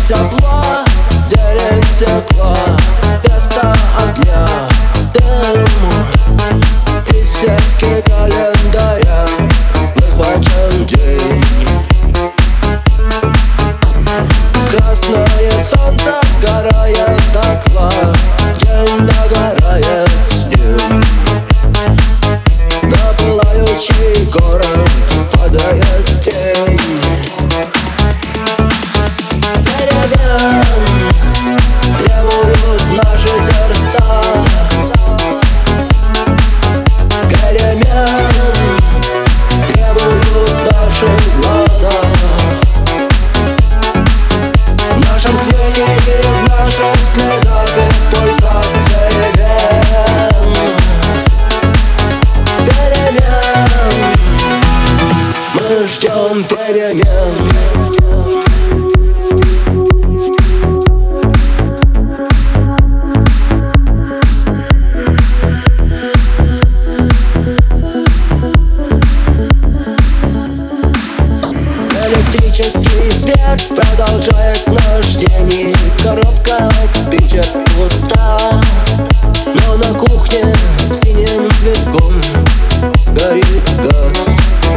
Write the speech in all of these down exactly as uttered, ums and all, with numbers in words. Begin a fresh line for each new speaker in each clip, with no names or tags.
тепла, зелень стекла, место огня, дым. Из сетки календаря выхвачен день. Красное солнце сгорает дотла, день догорает с ним. На пылающий город падает тень. Перемен требуют наши сердца, перемен требуют наши глаза. В нашем свете и в наших слезах и в пульсации вен. Перемен, мы ждем перемен. Электрический свет продолжает наш день. Коробка от спичек пуста, но на кухне синим цветком горит газ.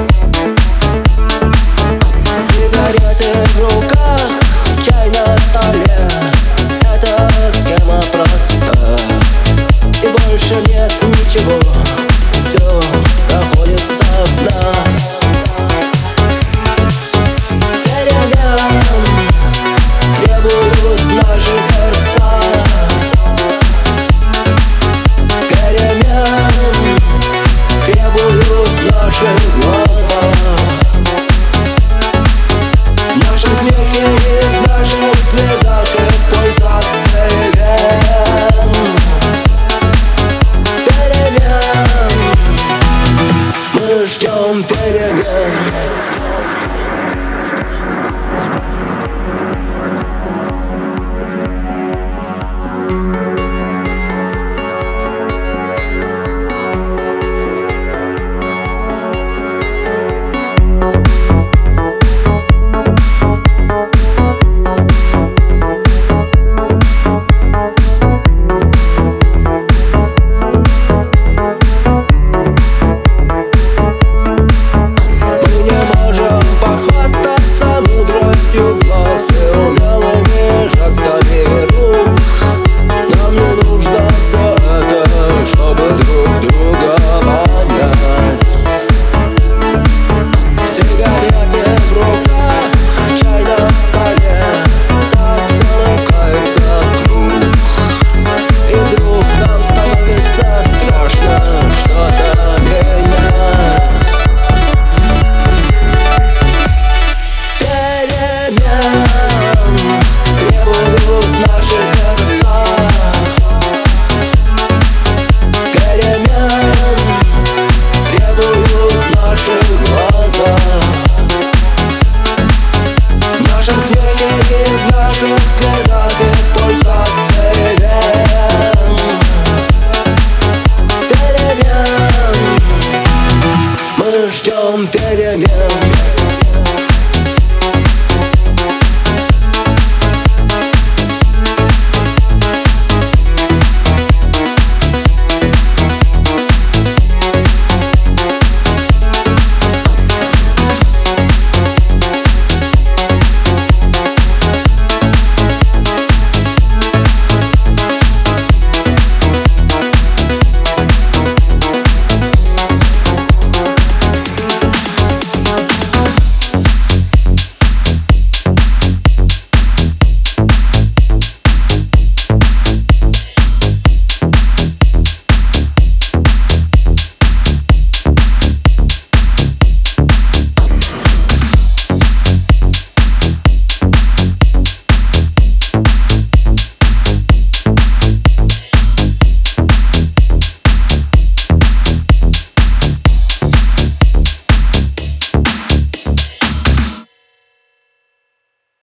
Сигареты в руках, чай на столе. Эта схема проста, и больше нет ничего. Все находится в нас. Требуют наши сердца, перемен требуют наши глаза. В нашем смехе и в наших слезах и в пульсации вен. Перемен, мы ждем перемен. Сигареты в руках, чай на